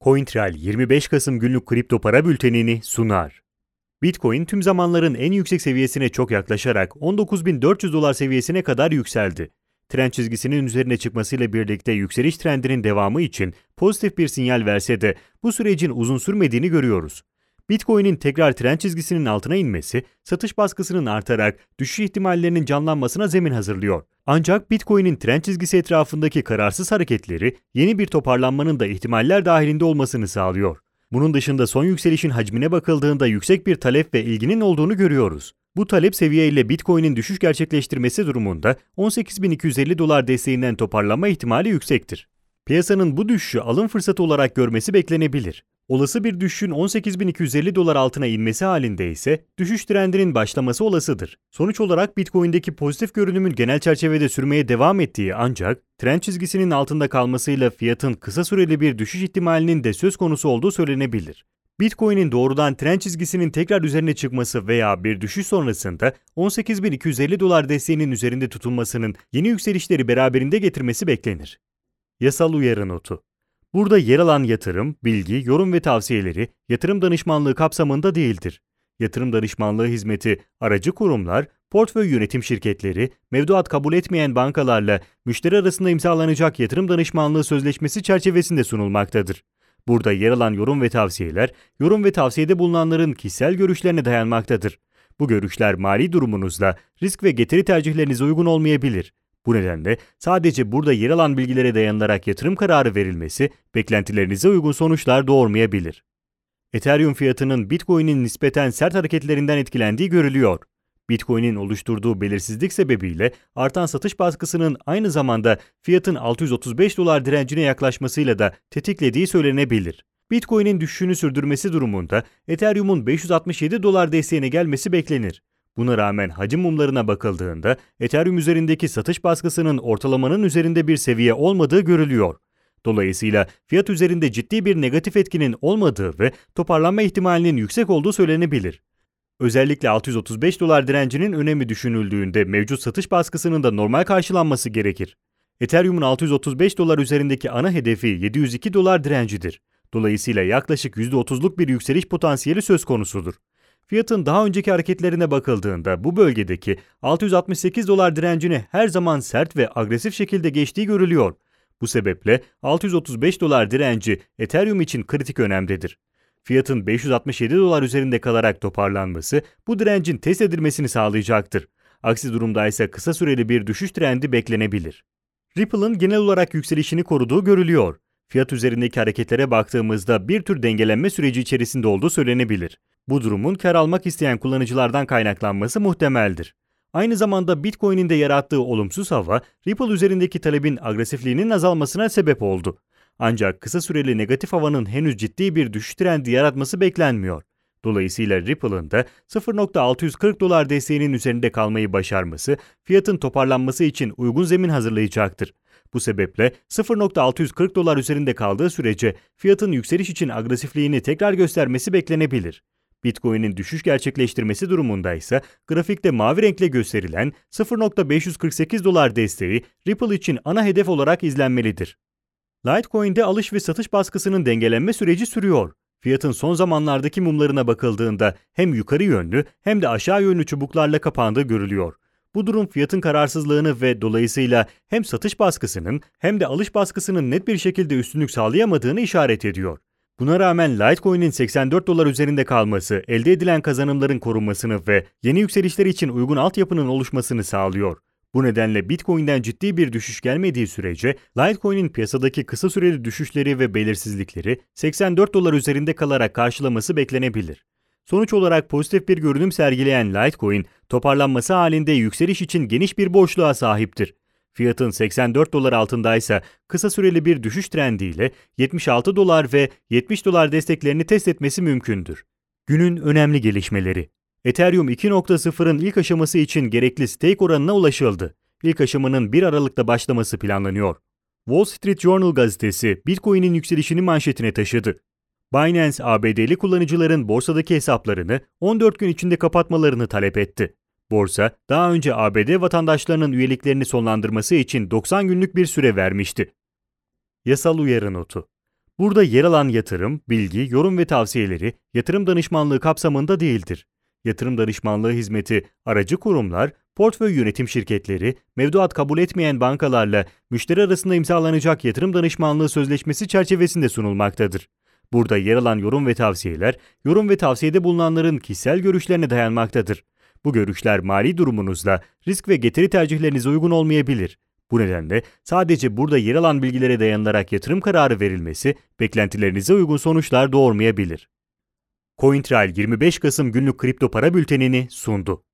CoinTrail 25 Kasım günlük kripto para bültenini sunar. Bitcoin tüm zamanların en yüksek seviyesine çok yaklaşarak $19.400 seviyesine kadar yükseldi. Trend çizgisinin üzerine çıkmasıyla birlikte yükseliş trendinin devamı için pozitif bir sinyal verse de bu sürecin uzun sürmediğini görüyoruz. Bitcoin'in tekrar trend çizgisinin altına inmesi, satış baskısının artarak düşüş ihtimallerinin canlanmasına zemin hazırlıyor. Ancak Bitcoin'in trend çizgisi etrafındaki kararsız hareketleri yeni bir toparlanmanın da ihtimaller dahilinde olmasını sağlıyor. Bunun dışında son yükselişin hacmine bakıldığında yüksek bir talep ve ilginin olduğunu görüyoruz. Bu talep seviyeyle Bitcoin'in düşüş gerçekleştirmesi durumunda $18.250 desteğinden toparlanma ihtimali yüksektir. Piyasanın bu düşüşü alım fırsatı olarak görmesi beklenebilir. Olası bir düşüşün $18.250 altına inmesi halinde ise düşüş trendinin başlaması olasıdır. Sonuç olarak Bitcoin'deki pozitif görünümün genel çerçevede sürmeye devam ettiği ancak trend çizgisinin altında kalmasıyla fiyatın kısa süreli bir düşüş ihtimalinin de söz konusu olduğu söylenebilir. Bitcoin'in doğrudan trend çizgisinin tekrar üzerine çıkması veya bir düşüş sonrasında $18.250 desteğinin üzerinde tutulmasının yeni yükselişleri beraberinde getirmesi beklenir. Yasal uyarı notu. Burada yer alan yatırım, bilgi, yorum ve tavsiyeleri yatırım danışmanlığı kapsamında değildir. Yatırım danışmanlığı hizmeti aracı kurumlar, portföy yönetim şirketleri, mevduat kabul etmeyen bankalarla müşteri arasında imzalanacak yatırım danışmanlığı sözleşmesi çerçevesinde sunulmaktadır. Burada yer alan yorum ve tavsiyede bulunanların kişisel görüşlerine dayanmaktadır. Bu görüşler mali durumunuzla, risk ve getiri tercihlerinize uygun olmayabilir. Bu nedenle sadece burada yer alan bilgilere dayanılarak yatırım kararı verilmesi beklentilerinize uygun sonuçlar doğurmayabilir. Ethereum fiyatının Bitcoin'in nispeten sert hareketlerinden etkilendiği görülüyor. Bitcoin'in oluşturduğu belirsizlik sebebiyle artan satış baskısının aynı zamanda fiyatın $635 direncine yaklaşmasıyla da tetiklediği söylenebilir. Bitcoin'in düşüşünü sürdürmesi durumunda Ethereum'un $567 desteğine gelmesi beklenir. Buna rağmen hacim mumlarına bakıldığında Ethereum üzerindeki satış baskısının ortalamanın üzerinde bir seviye olmadığı görülüyor. Dolayısıyla fiyat üzerinde ciddi bir negatif etkinin olmadığı ve toparlanma ihtimalinin yüksek olduğu söylenebilir. Özellikle $635 direncinin önemi düşünüldüğünde mevcut satış baskısının da normal karşılanması gerekir. Ethereum'un $635 üzerindeki ana hedefi $702 direncidir. Dolayısıyla yaklaşık %30'luk bir yükseliş potansiyeli söz konusudur. Fiyatın daha önceki hareketlerine bakıldığında bu bölgedeki $668 direncini her zaman sert ve agresif şekilde geçtiği görülüyor. Bu sebeple $635 direnci Ethereum için kritik önemdedir. Fiyatın $567 üzerinde kalarak toparlanması bu direncin test edilmesini sağlayacaktır. Aksi durumda ise kısa süreli bir düşüş trendi beklenebilir. Ripple'ın genel olarak yükselişini koruduğu görülüyor. Fiyat üzerindeki hareketlere baktığımızda bir tür dengelenme süreci içerisinde olduğu söylenebilir. Bu durumun kar almak isteyen kullanıcılardan kaynaklanması muhtemeldir. Aynı zamanda Bitcoin'in de yarattığı olumsuz hava, Ripple üzerindeki talebin agresifliğinin azalmasına sebep oldu. Ancak kısa süreli negatif havanın henüz ciddi bir düşüş trendi yaratması beklenmiyor. Dolayısıyla Ripple'ın da $0.640 desteğinin üzerinde kalmayı başarması, fiyatın toparlanması için uygun zemin hazırlayacaktır. Bu sebeple $0.640 üzerinde kaldığı sürece fiyatın yükseliş için agresifliğini tekrar göstermesi beklenebilir. Bitcoin'in düşüş gerçekleştirmesi durumunda ise grafikte mavi renkle gösterilen $0.548 desteği Ripple için ana hedef olarak izlenmelidir. Litecoin'de alış ve satış baskısının dengelenme süreci sürüyor. Fiyatın son zamanlardaki mumlarına bakıldığında hem yukarı yönlü hem de aşağı yönlü çubuklarla kapandığı görülüyor. Bu durum fiyatın kararsızlığını ve dolayısıyla hem satış baskısının hem de alış baskısının net bir şekilde üstünlük sağlayamadığını işaret ediyor. Buna rağmen Litecoin'in $84 üzerinde kalması, elde edilen kazanımların korunmasını ve yeni yükselişler için uygun altyapının oluşmasını sağlıyor. Bu nedenle Bitcoin'den ciddi bir düşüş gelmediği sürece Litecoin'in piyasadaki kısa süreli düşüşleri ve belirsizlikleri $84 üzerinde kalarak karşılaması beklenebilir. Sonuç olarak pozitif bir görünüm sergileyen Litecoin, toparlanması halinde yükseliş için geniş bir boşluğa sahiptir. Fiyatın $84 altındaysa kısa süreli bir düşüş trendiyle $76 ve $70 desteklerini test etmesi mümkündür. Günün önemli gelişmeleri. Ethereum 2.0'ın ilk aşaması için gerekli stake oranına ulaşıldı. İlk aşamanın 1 Aralık'ta başlaması planlanıyor. Wall Street Journal gazetesi Bitcoin'in yükselişini manşetine taşıdı. Binance, ABD'li kullanıcıların borsadaki hesaplarını 14 gün içinde kapatmalarını talep etti. Borsa, daha önce ABD vatandaşlarının üyeliklerini sonlandırması için 90 günlük bir süre vermişti. Yasal uyarı notu. Burada yer alan yatırım, bilgi, yorum ve tavsiyeleri yatırım danışmanlığı kapsamında değildir. Yatırım danışmanlığı hizmeti aracı kurumlar, portföy yönetim şirketleri, mevduat kabul etmeyen bankalarla müşteri arasında imzalanacak yatırım danışmanlığı sözleşmesi çerçevesinde sunulmaktadır. Burada yer alan yorum ve tavsiyeler, yorum ve tavsiyede bulunanların kişisel görüşlerine dayanmaktadır. Bu görüşler mali durumunuzla risk ve getiri tercihlerinize uygun olmayabilir. Bu nedenle sadece burada yer alan bilgilere dayanılarak yatırım kararı verilmesi beklentilerinize uygun sonuçlar doğurmayabilir. CoinTrail 25 Kasım günlük kripto para bültenini sundu.